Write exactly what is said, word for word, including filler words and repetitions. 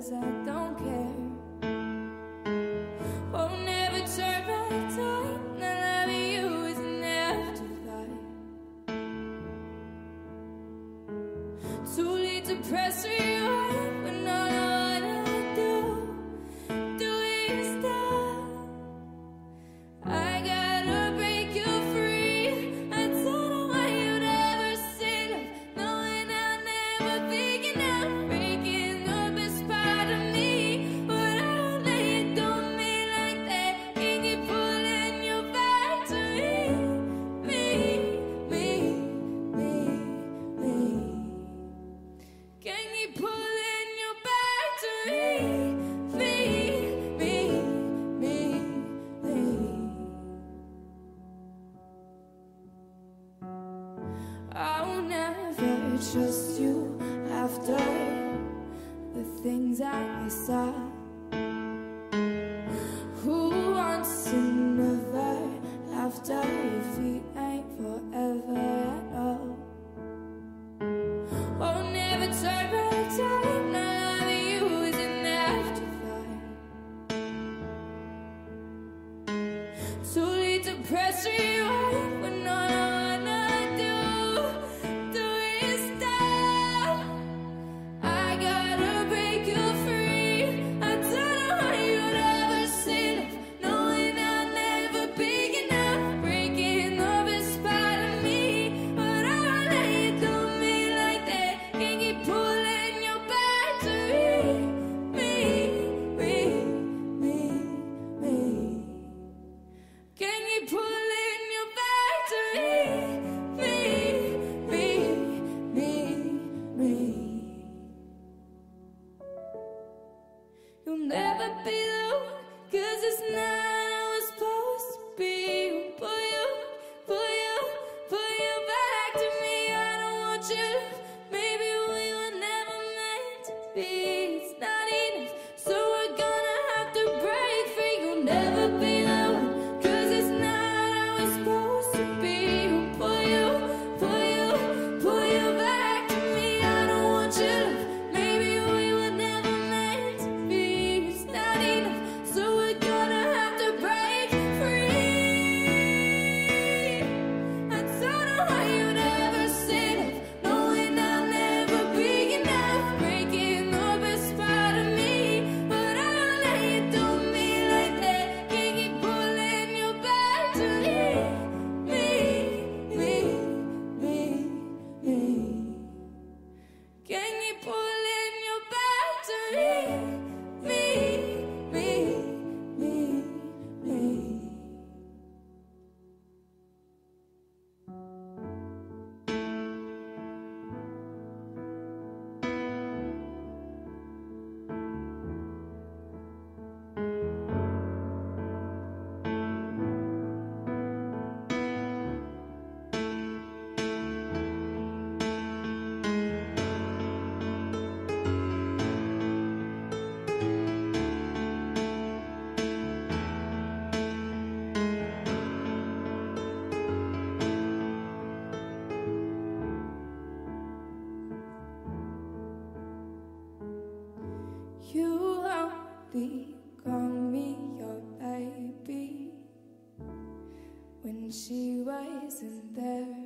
'cause I don't care. Won't never turn back time. Not loving you is an afterlife. Too late to press rewind when all I wanna do, do is stop. I gotta break you free. I don't know why you'd ever say love, knowing I'll never be enough. Breaking the best part of me, but I won't let you do me like that. Can you pulling you back to me, me, me, me, me? Can you pulling you back to me, me, me, me, me? I'll never trust you after the things I saw. Who wants to never after if we ain't forever at all? Oh, never turn back time. Not loving you is an afterlife. Too late to press rewind when all I wanna do, do is stop. I gotta break you free. I don't know how you'd ever say love, knowing I'll never be enough. Breaking the best part of me, but I won't let you do me like that. Can you pulling you back to me, me, me, me, me? Can you pulling you back to me, me, me, me, me? You'll never be the one, 'cause it's not how it's supposed to be. Pull you, pull you, pull you back to me. I don't want you. Maybe we were never meant to be. It's not enough, so we're gonna have to break free. You'll never be the one, 'cause it's not how it's supposed to be. Pull you, pull you, pull you back to me. I don't want you. Maybe we were never meant to be. It's not enough, so we're gonna have to break free. I don't know why you'd ever say love, knowing I'll never be enough. Breaking the best part of me, but I won't let you do me like that. Can you pulling you back to me, me, me, me, me? Can you pulling you back to me, me, me, me, me? You only call me your baby when she wasn't there.